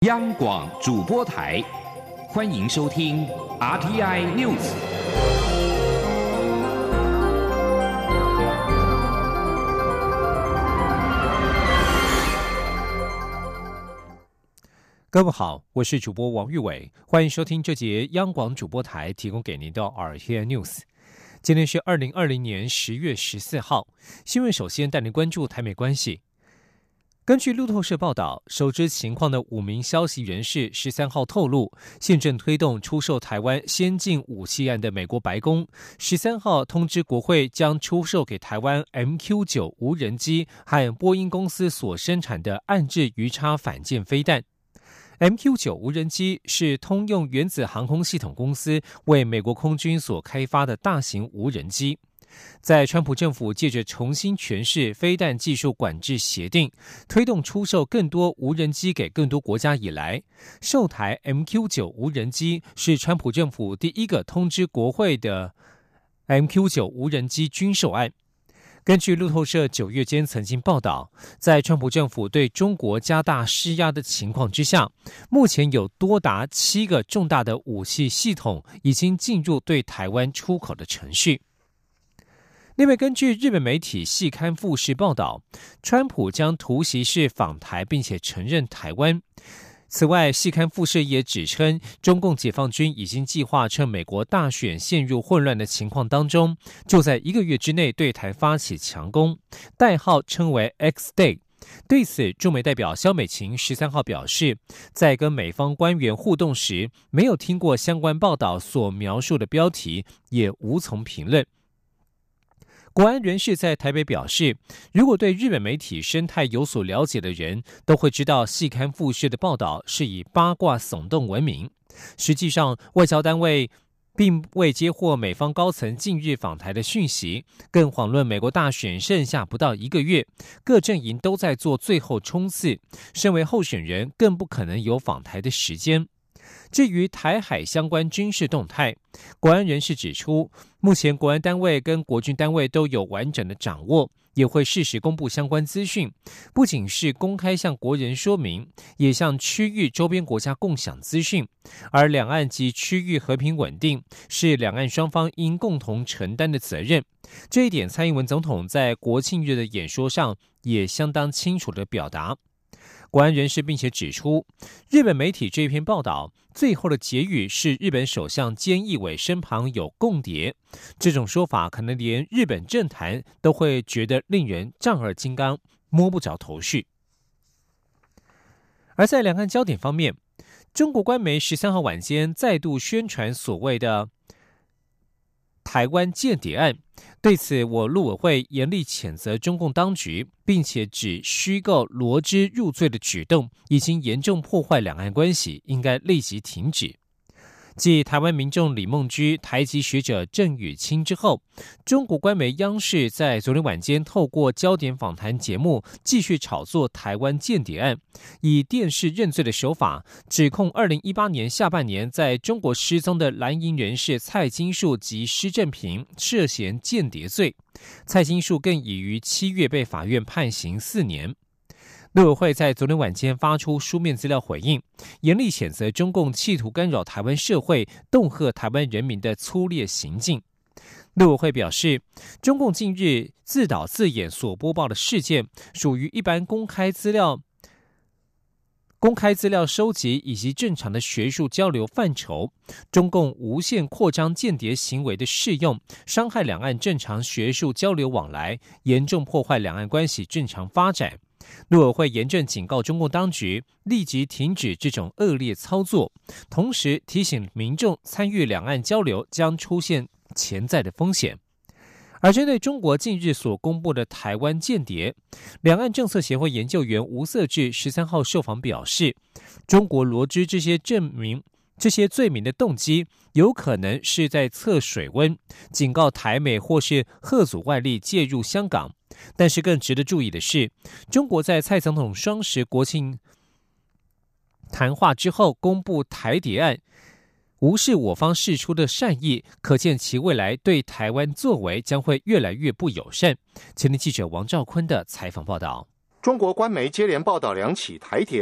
央广主播台，欢迎收听 RTI News。 各位好，我是主播王玉伟，欢迎收听这节央广主播台提供给您的 RTI News。今天是2020年10月14号，新闻首先带您关注台美关系。根据路透社报道，熟知情况的5名消息人士13号透露，现正推动出售台湾先进武器案的美国白宫13号通知国会，将出售给台湾 MQ-9 无人机和波音公司所生产的岸置鱼叉反舰飞弹。MQ-9 无人机是通用原子航空系统公司为美国空军所开发的大型无人机。在川普政府借着重新诠释飞弹技术管制协定，推动出售更多无人机给更多国家以来，售台 MQ-9 无人机是川普政府第一个通知国会的 MQ-9 无人机军售案。根据路透社9月间曾经报道，在川普政府对中国加大施压的情况之下，目前有多达7个重大的武器系统已经进入对台湾出口的程序。另外，根据日本媒体细刊富士报道，川普将突袭式访台，并且承认台湾。此外，细刊富士也指称，中共解放军已经计划趁美国大选陷入混乱的情况当中，就在1个月之内对台发起强攻，代号称为 X Day。对此，驻美代表萧美琴13号表示，在跟美方官员互动时，没有听过相关报道所描述的标题，也无从评论。国安人士在台北表示，如果对日本媒体生态有所了解的人，都会知道细刊富士的报道是以八卦耸动闻名。实际上，外交单位并未接获美方高层近日访台的讯息，更遑论美国大选剩下不到1个月，各阵营都在做最后冲刺，身为候选人更不可能有访台的时间。至于台海相关军事动态，国安人士指出，目前国安单位跟国军单位都有完整的掌握，也会适时公布相关资讯，不仅是公开向国人说明，也向区域周边国家共享资讯。而两岸及区域和平稳定是两岸双方应共同承担的责任。这一点，蔡英文总统在国庆日的演说上也相当清楚地表达。国安人士并且指出，日本媒体这篇报道最后的结语是日本首相菅义伟身旁有共谍，这种说法可能连日本政坛都会觉得令人丈二金刚，摸不着头绪。而在两岸焦点方面，中国官媒13号晚间再度宣传所谓的台湾间谍案，对此我陆委会严厉谴责中共当局，并且指虚构罗织入罪的举动已经严重破坏两岸关系，应该立即停止。继台湾民众李孟居、台籍学者郑宇清之后，中国官媒央视在昨天晚间透过焦点访谈节目继续炒作台湾间谍案，以电视认罪的手法指控2018年下半年在中国失踪的蓝营人士蔡金树及施正平涉嫌间谍罪，蔡金树更已于7月被法院判刑4年。陆委会在昨天晚间发出书面资料回应，严厉谴责中共企图干扰台湾社会、恫吓台湾人民的粗劣行径。陆委会表示，中共近日自导自演所播报的事件，属于一般公开资料收集以及正常的学术交流范畴，中共无限扩张间谍行为的适用，伤害两岸正常学术交流往来，严重破坏两岸关系正常发展。陆委会严正警告中共当局，立即停止这种恶劣操作，同时提醒民众参与两岸交流将出现潜在的风险。而针对中国近日所公布的台湾间谍，两岸政策协会研究员吴瑟智13号受访表示，中国罗织这些罪名的动机有可能是在测水温，警告台美或是吓阻外力介入香港。但是更值得注意的是，中国在蔡总统双十国庆谈话之后公布台谍案，无视我方释出的善意，可见其未来对台湾作为将会越来越不友善。前天记者王兆坤的采访报道。 中国官媒接连报道2起台谍案，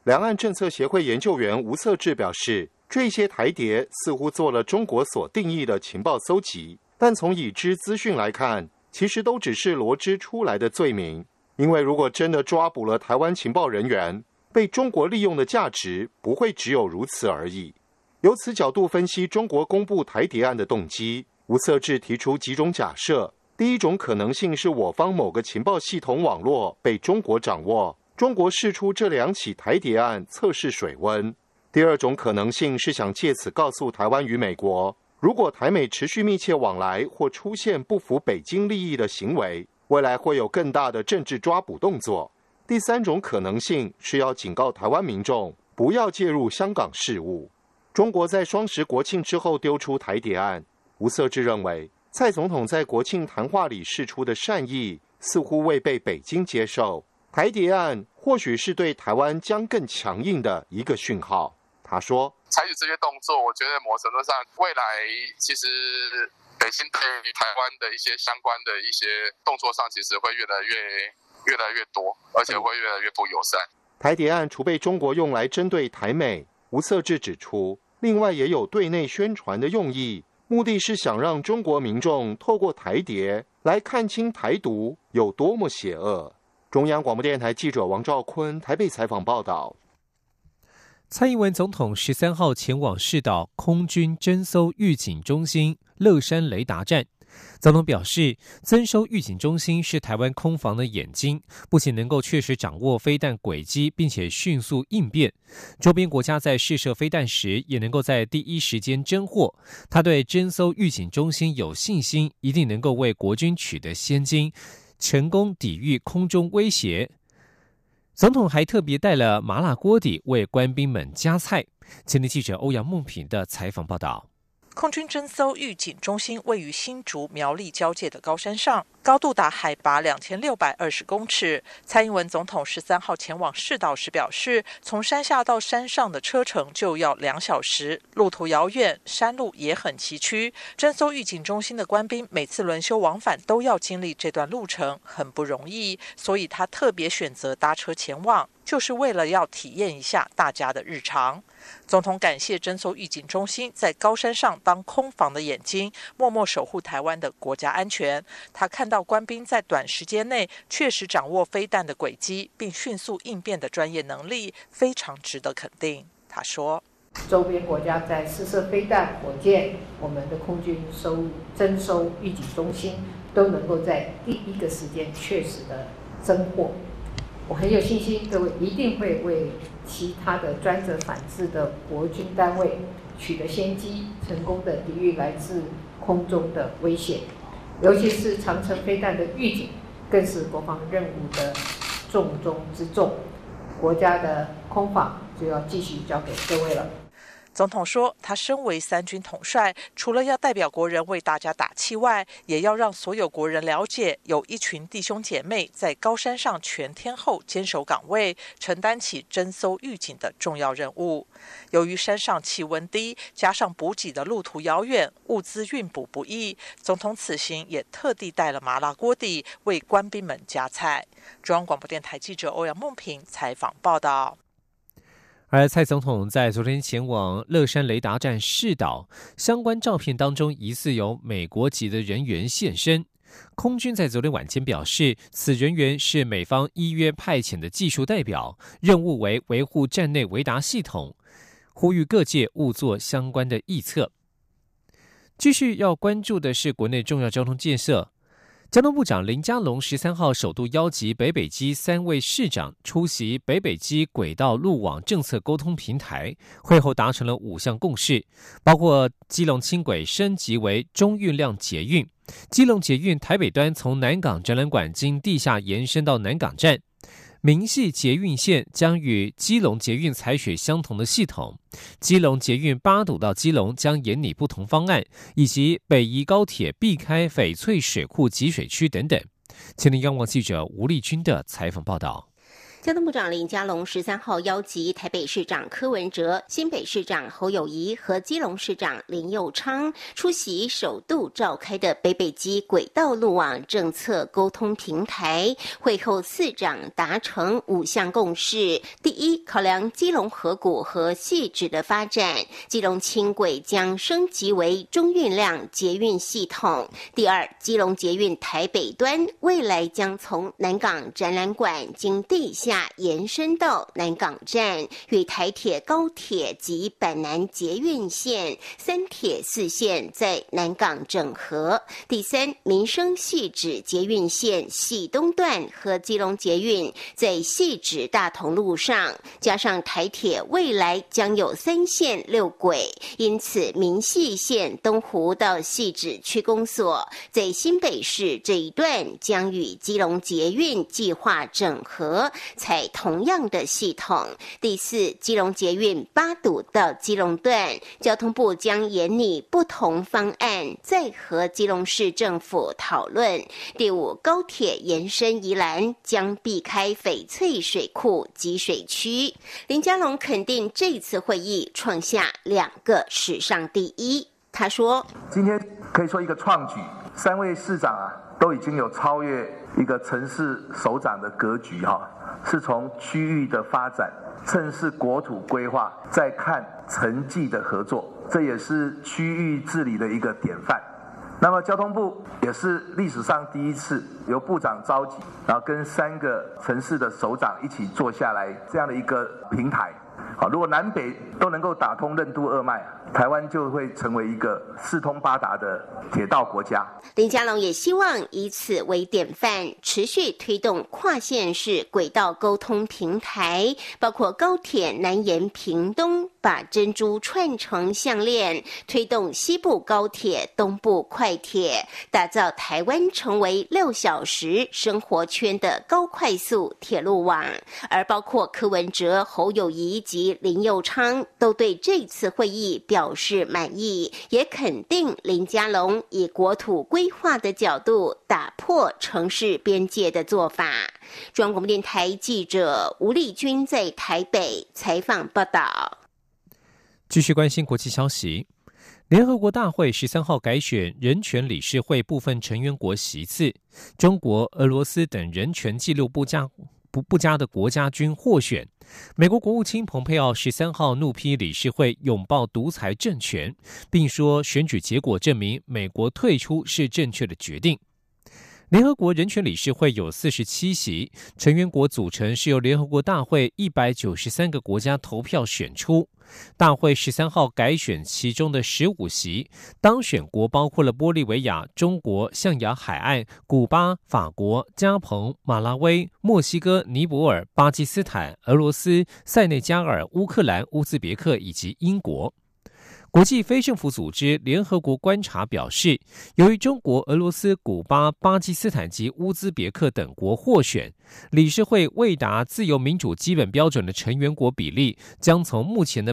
两岸政策协会研究员吴瑟智表示，这些台谍似乎做了中国所定义的情报搜集，但从已知资讯来看，其实都只是罗织出来的罪名。因为如果真的抓捕了台湾情报人员，被中国利用的价值不会只有如此而已。由此角度分析中国公布台谍案的动机，吴瑟智提出几种假设。第一种可能性是我方某个情报系统网络被中国掌握，中国释出这2起台谍案测试水温。第二种可能性是想借此告诉台湾与美国，如果台美持续密切往来或出现不符北京利益的行为，未来会有更大的政治抓捕动作。第三种可能性是要警告台湾民众不要介入香港事务。中国在双十国庆之后丢出台谍案，吴瑟智认为蔡总统在国庆谈话里释出的善意似乎未被北京接受，台谍案或许是对台湾将更强硬的一个讯号。他说， 采取这些动作，我觉得某程度上未来其实北京对于台湾的一些相关的一些动作上，其实会越来越多，而且会越来越不友善。 台谍案除被中国用来针对台美，吴瑟智指出，另外也有对内宣传的用意，目的是想让中国民众透过台谍来看清台独有多么邪恶。中央广播电台记者王兆坤台北采访报道。 蔡英文总统13号前往视导空军侦搜预警中心乐山雷达站。总统表示，增收预警中心是台湾空防的眼睛，不仅能够确实掌握飞弹轨迹，并且迅速应变，周边国家在试射飞弹时也能够在第一时间侦获。他对侦搜预警中心有信心，一定能够为国军取得先机，成功抵御空中威胁。总统还特别带了麻辣锅底为官兵们加菜。前天记者欧阳梦平的采访报道。 空军侦搜预警中心位于新竹苗栗交界的高山上，高度达海拔2620公尺。蔡英文总统13号前往视导时表示，从山下到山上的车程就要2小时，路途遥远，山路也很崎岖。侦搜预警中心的官兵每次轮休往返都要经历这段路程，很不容易，所以他特别选择搭车前往，就是为了要体验一下大家的日常。总统感谢侦搜预警中心在高山上当空防的眼睛，默默守护台湾的国家安全。他看到官兵在短时间内确实掌握飞弹的轨迹，并迅速应变的专业能力，非常值得肯定。他说， 周边国家在试射飞弹、火箭，我们的空军侦搜预警中心都能够在第一个时间确实的侦获。我很有信心，各位一定会为其他的专责反制的国军单位取得先机，成功的抵御来自空中的威胁。尤其是长程飞弹的预警，更是国防任务的重中之重。国家的空防就要继续交给各位了。 总统说，他身为3军统帅，除了要代表国人为大家打气外，也要让所有国人了解，有一群弟兄姐妹在高山上全天候坚守岗位，承担起侦搜预警的重要任务。由于山上气温低，加上补给的路途遥远，物资运补不易，总统此行也特地带了麻辣锅底为官兵们加菜。中央广播电台记者欧阳梦平采访报道。 而蔡总统在昨天前往乐山雷达站视导，相关照片当中疑似有美国籍的人员现身。空军在昨天晚间表示，此人员是美方依约派遣的技术代表，任务为维护站内维达系统，呼吁各界勿做相关的臆测。继续要关注的是国内重要交通建设。交通部长林佳龙13号首度邀集北北基3位市长出席北北基轨道路网政策沟通平台，会后达成了5项共识，包括基隆轻轨升级为中运量捷运，基隆捷运台北端从南港展览馆经地下延伸到南港站，明细捷运线将与基隆捷运采取相同的系统，基隆捷运八堵到基隆将研拟不同方案，以及北宜高铁避开翡翠水库集水区等等。前天央广记者吴丽君的采访报道。 交通部长林佳龙13号邀集台北市长柯文哲、新北市长侯友宜和基隆市长林右昌出席首度召开的北北基轨道路网政策沟通平台会后，四长达成5项共识。第一，考量基隆河谷和汐止的发展，基隆轻轨将升级为中运量捷运系统。第二，基隆捷运台北端未来将从南港展览馆经地下延伸到南港站，与台铁、高铁及板南捷运线、三铁四线在南港整合。第三，民生汐止捷运线汐东段和基隆捷运在汐止大同路上，加上台铁未来将有3线6轨，因此民汐线东湖到汐止区公所在新北市这一段将与基隆捷运计划整合，采同样的系统。第四，基隆捷运八堵到基隆段，交通部将研拟不同方案，再和基隆市政府讨论。第五，高铁延伸宜兰将避开翡翠水库集水区。林佳龙肯定这次会议创下2个史上第一。他说：“ 今天可以说一个创举，3位市长都已经有超越一个城市首长的格局是从区域的发展，正是国土规划，再看城际的合作，这也是区域治理的一个典范。那么交通部也是历史上第一次由部长召集，然后跟3个城市的首长一起坐下来这样的一个平台。如果南北都能够打通任督二脉，台湾就会成为一个四通八达的铁道国家。” 林佳龙也希望以此为典范，持续推动跨县市轨道沟通平台，包括高铁南延屏东，把珍珠串成项链，推动西部高铁、东部快铁，打造台湾成为6小时生活圈的高快速铁路网。而包括柯文哲、侯友宜及林右昌都对这次会议表示满意，也肯定林佳龙以国土规划的角度打破城市边界的做法。中央广播电台记者吴丽君在台北采访报道。 继续关心国际消息，联合国大会13号改选人权理事会部分成员国席次，中国、俄罗斯等人权纪录不佳的国家均获选。美国国务卿蓬佩奥13号怒批理事会拥抱独裁政权，并说选举结果证明美国退出是正确的决定。联合国人权理事会有47席，成员国组成是由联合国大会193个国家投票选出。大会13号改选其中的15席，当选国包括了玻利维亚、中国、象牙海岸、古巴、法国、加蓬、马拉维、墨西哥、尼泊尔、巴基斯坦、俄罗斯、塞内加尔、乌克兰、乌兹别克以及英国。国际非政府组织联合国观察表示，由于中国、俄罗斯、古巴、巴基斯坦及乌兹别克等国获选，理事会未达自由民主基本标准的成员国比例将从目前的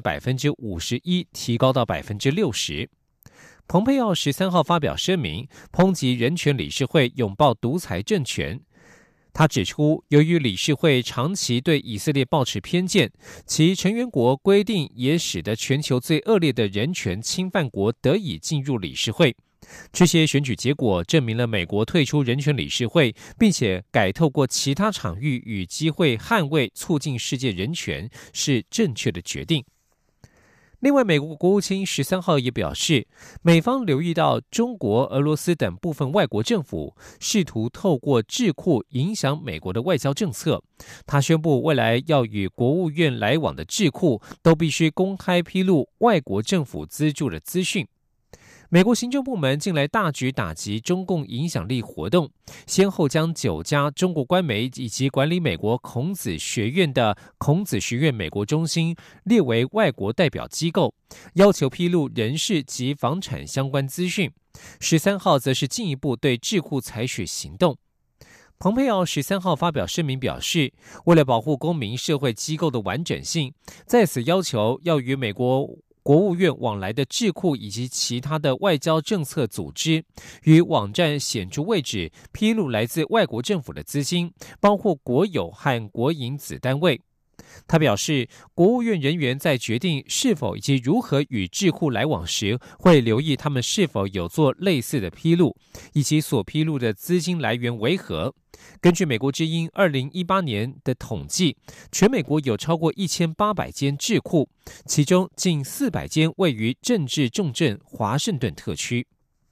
51% 提高到 60%。蓬佩奥13号发表声明，抨击人权理事会拥抱独裁政权。他指出，由于理事会长期对以色列抱持偏见，其成员国规定也使得全球最恶劣的人权侵犯国得以进入理事会。这些选举结果证明了美国退出人权理事会，并且改透过其他场域与机会捍卫、促进世界人权是正确的决定。另外，美国国务卿13号也表示，美方留意到中国、俄罗斯等部分外国政府试图透过智库影响美国的外交政策。他宣布，未来要与国务院来往的智库都必须公开披露外国政府资助的资讯。美国行政部门近来大举打击中共影响力活动，先后将9家中国官媒以及管理美国孔子学院的孔子学院美国中心列为外国代表机构，要求披露人事及房产相关资讯。13号则是进一步对智库采取行动。蓬佩奥13号发表声明表示，为了保护公民社会机构的完整性，在此要求要与美国国务院往来的智库以及其他的外交政策组织，与网站显著位置披露来自外国政府的资金，包括国有和国营子单位。他表示，国务院人员在决定是否以及如何与智库来往时，会留意他们是否有做类似的披露，以及所披露的资金来源为何。根据美国之音2018年的统计，全美国有超过1800间智库，其中近400间位于政治重镇华盛顿特区。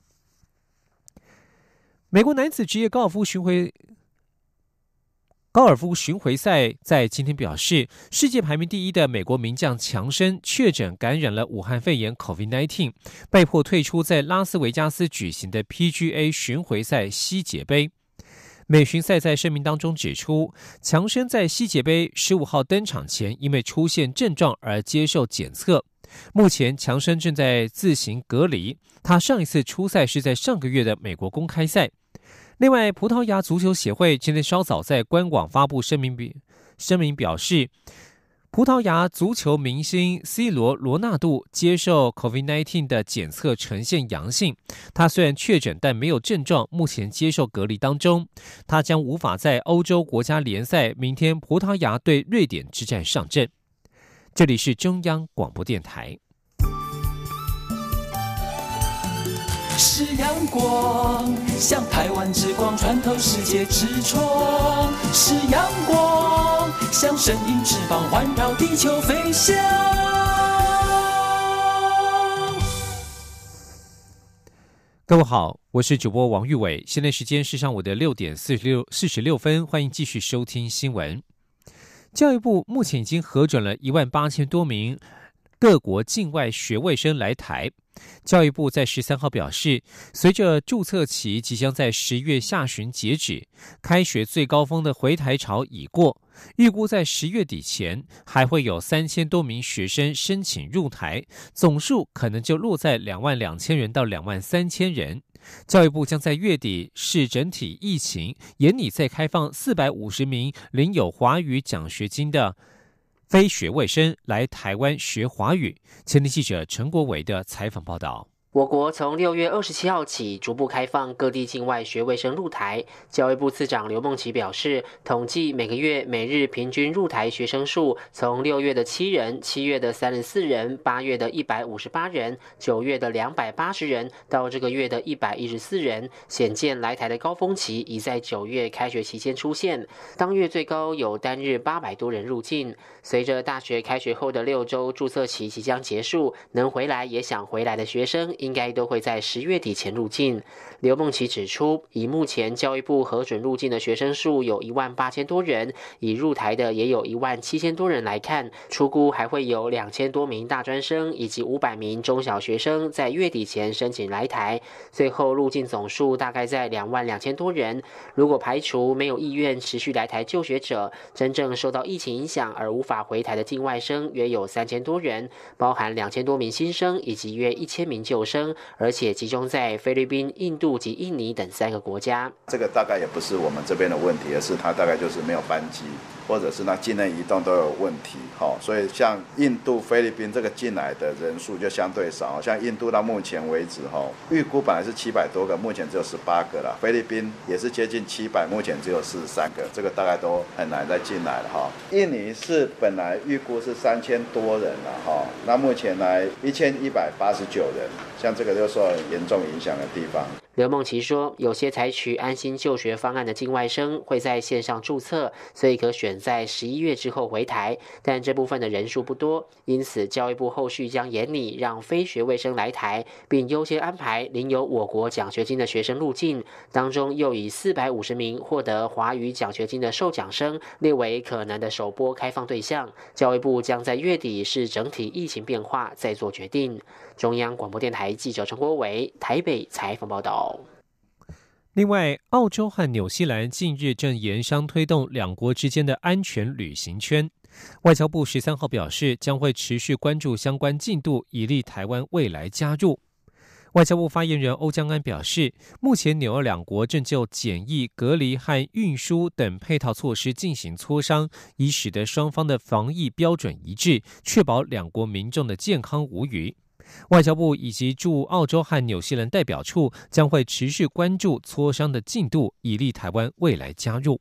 美国男子职业高尔夫巡回赛在今天表示，世界排名第1的美国名将强生确诊感染了武汉肺炎 COVID-19， 被迫退出在拉斯维加斯举行的 PGA 巡回赛西捷杯。美巡赛在声明当中指出，强生在西捷杯15号登场前因为出现症状而接受检测，目前强生正在自行隔离，他上一次出赛是在上个月的美国公开赛。另外，葡萄牙足球协会今天稍早在官网发布声明表示，葡萄牙足球明星 C 罗纳度接受 COVID-19 的检测呈现阳性，他虽然确诊但没有症状，目前接受隔离当中，他将无法在欧洲国家联赛明天葡萄牙对瑞典之战上阵。这里是中央广播电台。 是阳光，像台湾之光穿透世界之窗；是阳光，像神鹰翅膀环绕地球飞翔。 各位好，我是主播王玉伟，现在时间是上午的6点46分，欢迎继续收听新闻。教育部目前已经核准了18000多名各国境外学位生来台。教育部在13号表示，随着注册期即将在10月下旬截止，开学最高峰的回台潮已过，预估在10月底前还会有3000多名学生申请入台，总数可能就落在22000人到23000人。教育部将在月底视整体疫情，研拟再开放450名领有华语奖学金的非学位生来台湾学华语。前天记者陈国伟的采访报道。 我国从6月27号起逐步开放各地境外学位生入台。教育部次长刘梦琪表示，统计每个月每日平均入台学生数，从6月的7人、7月的34人、8月的158人、9月的280人，到这个月的114人，显见来台的高峰期已在9月开学期间出现。当月最高有单日800多人入境。随着大学开学后的6周注册期即将结束，能回来也想回来的学生应该都会在10月底前入境。刘梦琪指出，以目前教育部核准入境的学生数有18000多人，以入台的也有17000多人来看，初估还会有2000多名大专生以及500名中小学生在月底前申请来台，最后入境总数大概在22000多人。如果排除没有意愿持续来台就学者，真正受到疫情影响而无法回台的境外生约有3000多人，包含2000多名新生以及约1000名旧生，而且集中在菲律宾、印度及印尼等3个国家。 这个大概也不是我们这边的问题，而是它大概就是没有班机，或者是那境内移动都有问题。所以像印度、菲律宾这个进来的人数就相对少，像印度到目前为止预估本来是700多个，目前只有18个了。菲律宾也是接近700，目前只有43个，这个大概都很难再进来了。印尼是本来预估是3000多人了，那目前来1189人，像这个就受严重影响的地方。 刘梦琪说，有些采取安心就学方案的境外生会在线上注册，所以可选在11月之后回台，但这部分的人数不多，因此教育部后续将研拟让非学位生来台，并优先安排领有我国奖学金的学生入境，当中又以450名获得华语奖学金的受奖生列为可能的首波开放对象。教育部将在月底视整体疫情变化再做决定。中央广播电台记者陈国伟台北采访报道。 另外，澳洲和纽西兰近日正研商推动两国之间的安全旅行圈。外交部13号表示，将会持续关注相关进度，以利台湾未来加入。 外交部发言人欧江安表示，目前纽俄两国正就检疫、隔离和运输等配套措施进行磋商，以使得双方的防疫标准一致，确保两国民众的健康无虞。外交部以及驻澳洲和纽西兰代表处将会持续关注磋商的进度，以利台湾未来加入。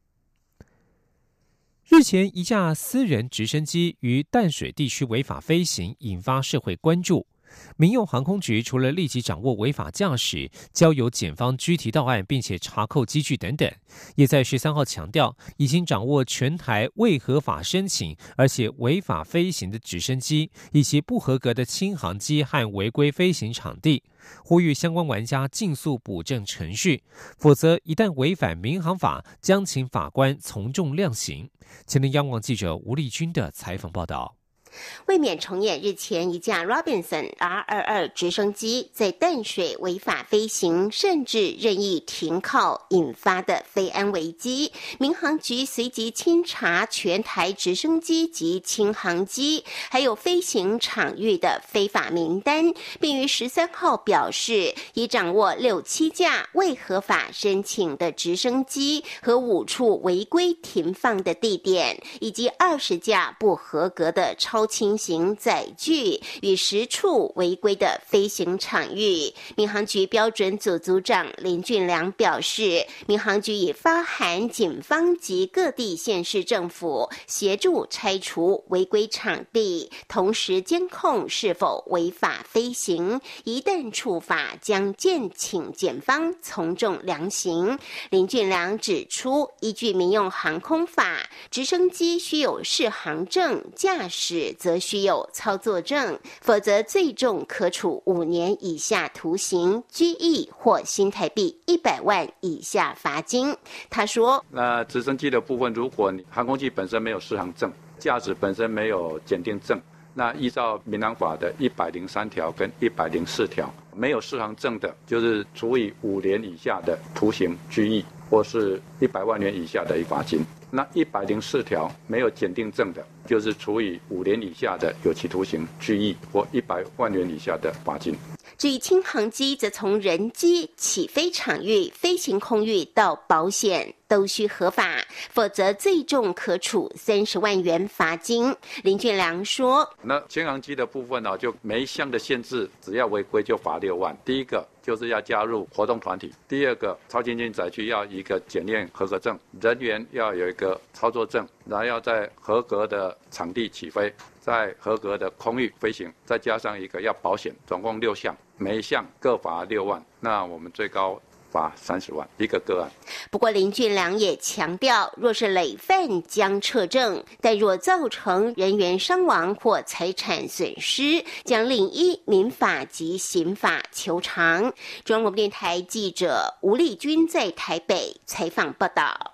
日前，一架私人直升机于淡水地区违法飞行，引发社会关注。民用航空局除了立即掌握违法驾驶，交由检方拘提到案，并且查扣机具等等，也在13号强调，已经掌握全台未合法申请而且违法飞行的直升机，以及不合格的轻航机和违规飞行场地，呼吁相关玩家尽速补正程序，否则一旦违反民航法，将请法官从重量刑。前天央广记者吴丽君的采访报道。 为免重演日前一架 Robinson R-22 直升机在淡水违法飞行，甚至任意停靠引发的飞安危机，民航局随即清查全台直升机及轻航机，还有飞行场域的非法名单，并于13号表示，已掌握6、7架未合法申请的直升机和5处违规停放的地点，以及20架不合格的超轻型载具与10处违规的飞行场域。民航局标准组组长林俊良表示，民航局已发函警方及各地县市政府协助拆除违规场地，同时监控是否违法飞行，一旦触法将建请检方从重量刑。林俊良指出，依据民用航空法，直升机需有适航证，驾驶则需有操作证，否则最重可处5年以下徒刑、拘役或新台币100万以下罚金。他说， 那直升机的部分，如果你航空器本身没有适航证，驾驶本身没有检定证，那依照民航法的103条跟104条，没有适航证的，就是处以5年以下的徒刑、拘役或是100万元以下的罚金。那104条没有检定证的，就是处以5年以下的有期徒刑、拘役或100万元以下的罚金。 至于轻航机，则从人机、起飞场域、飞行空域到保险都需合法，否则最重可处30万元罚金。林俊良说， 那轻航机的部分呢，就每一项的限制，只要违规就罚6万。第一个就是要加入活动团体，第二个超轻型载具要一个检验合格证，人员要有一个操作证，然后要在合格的场地起飞，在合格的空域飞行，再加上一个要保险，总共6项，每一项各罚6万。那我们最高罚30万一个个案。 不过林俊良也强调，若是累犯将撤证，但若造成人员伤亡或财产损失，将另依民法及刑法求偿。中央广播电台记者吴丽君在台北采访报道。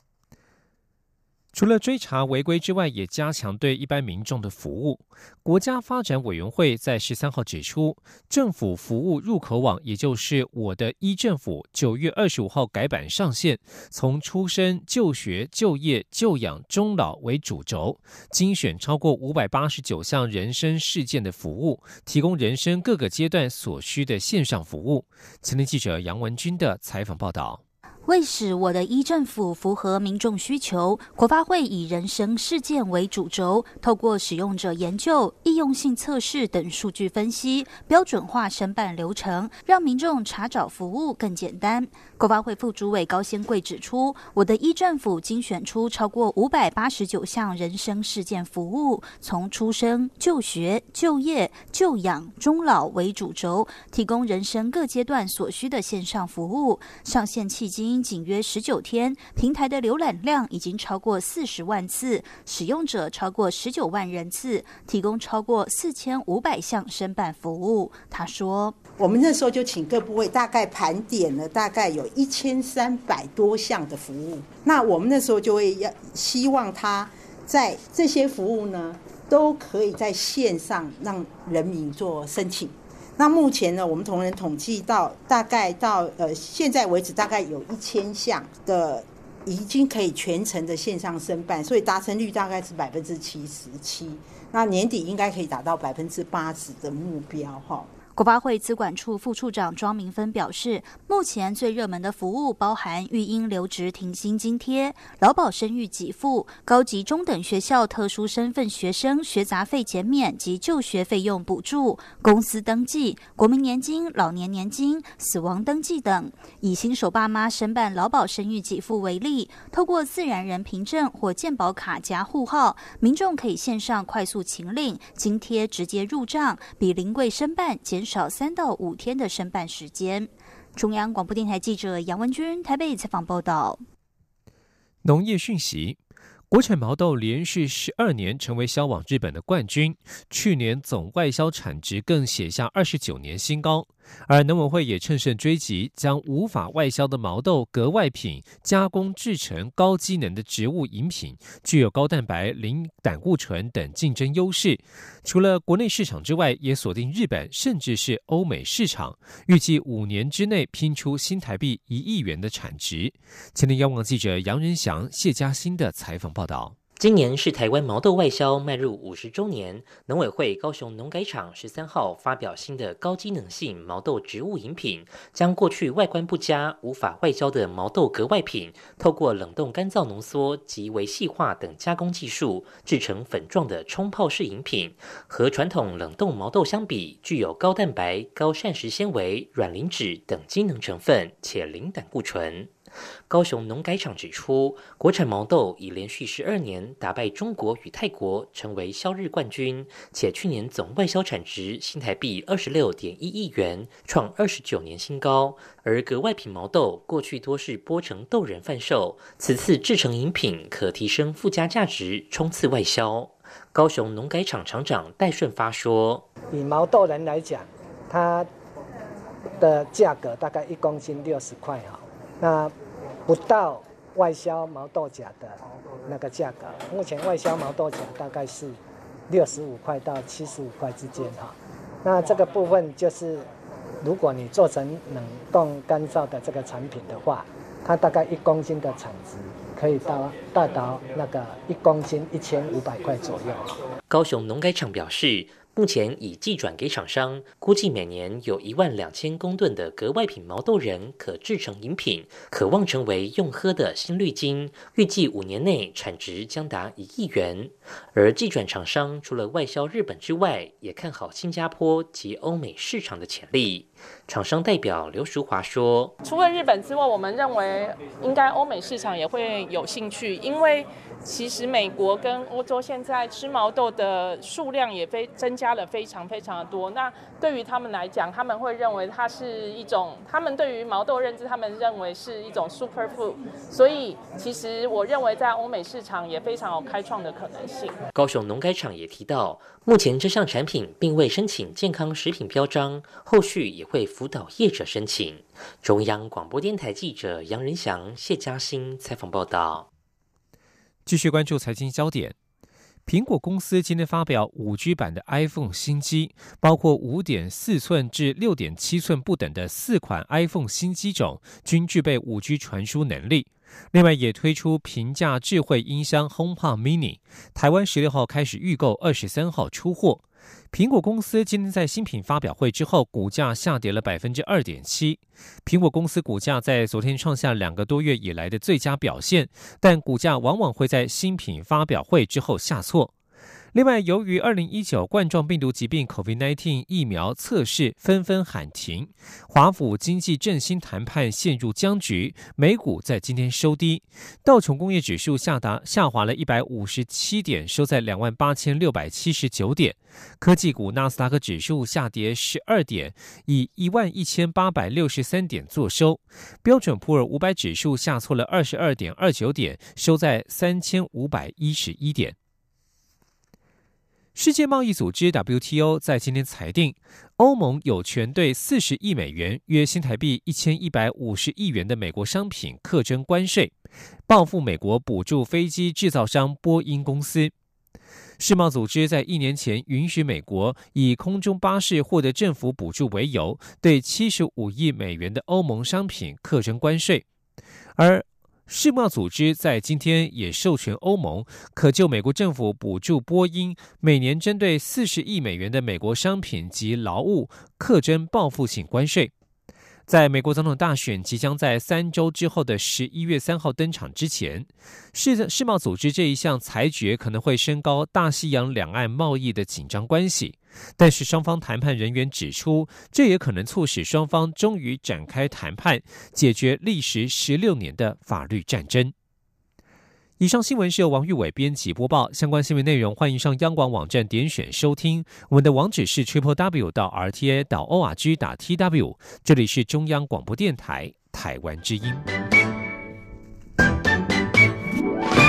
除了追查违规之外，也加强对一般民众的服务。国家发展委员会在13号指出，政府服务入口网，也就是我的政府9月25号改版上线，从出生、就学、就业、就养、终老为主轴，精选超过589项人生事件的服务，提供人生各个阶段所需的线上服务。前天记者杨文君的采访报道。 为使我的政府符合民众需求，国发会以人生事件为主轴，透过使用者研究、易用性测试等数据分析，标准化申办流程，让民众查找服务更简单。国发会副主委高仙贵指出，我的政府精选出超过589项人生事件服务，从出生、就学、就业、就养、终老为主轴，提供人生各阶段所需的线上服务。上线迄今仅约19天，平台的浏览量已经超过40万次，使用者超过19万人次，提供超过4500项申办服务。他说， 我们那时候就请各部会大概盘点了大概有1300多项的服务，那我们那时候就会希望他在这些服务呢都可以在线上让人民做申请。那目前呢，我们同仁统计到大概到现在为止，大概有1000项的已经可以全程的线上申办，所以达成率大概是77%。那年底应该可以达到80%的目标哈。 国发会资管处副处长庄明芬表示，目前最热门的服务包含育婴留职停薪津贴、劳保生育给付、高级中等学校特殊身份学生学杂费减免及就学费用补助、公司登记、国民年金、老年年金、死亡登记等。以新手爸妈申办劳保生育给付为例，透过自然人凭证或健保卡加户号，民众可以线上快速请领，津贴直接入账，比临柜申办减少3到5天的申办时间。中央广播电台记者杨文君台北采访报道。 农业讯息，国产毛豆连续12年成为销往日本的冠军，去年总外销产值更写下29年新高。而农委会也乘胜追击，将无法外销的毛豆格外品加工制成高机能的植物饮品，具有高蛋白、零胆固醇等竞争优势。除了国内市场之外，也锁定日本甚至是欧美市场，预计5年之内拼出新台币1亿元的产值。前天央广记者杨仁祥、谢嘉欣的采访报道。 今年是台湾毛豆外销迈入50周年，农委会高雄农改场13号发表新的高机能性毛豆植物饮品，将过去外观不佳、无法外销的毛豆格外品，透过冷冻干燥浓缩及微细化等加工技术，制成粉状的冲泡式饮品。和传统冷冻毛豆相比，具有高蛋白、高膳食纤维、软磷脂等机能成分，且零胆固醇。高雄农改场指出，国产毛豆已连续12年打败中国与泰国，成为销日冠军，且去年总外销产值新台币26.1亿元，创29年新高。而格外品毛豆过去多是剥成豆仁贩售，此次制成饮品可提升附加价值，冲刺外销。高雄农改场厂长戴顺发说：“ 以毛豆仁来讲，它的价格大概1公斤60块哈。”那不到外销毛豆荚的那个价格，目前外销毛豆荚大概是65块到75块之间哈。那这个部分就是，如果你做成冷冻干燥的这个产品的话，它大概1公斤的产值可以达到那个1公斤1500块左右。 高雄农改场表示，目前已寄转给厂商，估计每年有12000公吨的格外品毛豆仁可制成饮品，可望成为用喝的新绿金，预计5年内产值将达1亿元。而寄转厂商除了外销日本之外，也看好新加坡及欧美市场的潜力。厂商代表刘淑华说：“ 除了日本之外，我们认为应该欧美市场也会有兴趣，因为其实美国跟欧洲现在吃毛豆的数量也增加了非常非常的多。那对于他们来讲，他们会认为它是一种，他们对于毛豆认知，他们认为是一种 super food。所以其实我认为在欧美市场也非常有开创的可能性。” 高雄农改场也提到，目前这项产品并未申请健康食品标章，后续也会辅导业者申请。中央广播电台记者杨仁祥、谢嘉欣采访报道。 继续关注财经焦点，苹果公司今天发表5G 版的 iPhone 新机，包括5.4寸至6.7寸不等的4款 iPhone 新机种，均具备5G 传输能力。另外也推出平价智慧音箱 HomePod Mini， 台湾16号开始预购，23号出货。苹果公司今天在新品发表会之后，股价下跌了 2.7%。苹果公司股价在昨天创下2个多月以来的最佳表现，但股价往往会在新品发表会之后下挫。另外，由于2019冠状病毒疾病 COVID-19 疫苗测试纷纷喊停，华府经济振兴谈判陷入僵局，美股在今天收低，道琼工业指数下滑了157点，收在28,679点，科技股纳斯达克指数下跌12点，以11,863点作收，标准普尔500指数下挫了22.29点，收在3,511点。世界贸易组织 WTO 在今天裁定，欧盟有权对40亿美元，约新台币1150亿元的美国商品课征关税，报复美国补助飞机制造商波音公司。世贸组织在1年前允许美国以空中巴士获得政府补助为由，对75亿美元的欧盟商品课征关税，而世贸组织在今天也授权欧盟可就美国政府补助波音每年针对40亿美元的美国商品及劳务课征报复性关税。在美国总统大选即将在3周之后的11月3号登场之前，世贸组织这一项裁决可能会升高大西洋两岸贸易的紧张关系，但是双方谈判人员指出，这也可能促使双方终于展开谈判，解决历时16年的法律战争。以上新闻是由王玉伟编辑播报，相关新闻内容欢迎上央广网站点选收听，我们的网址是 www.rti.org.tw， 这里是中央广播电台台湾之音。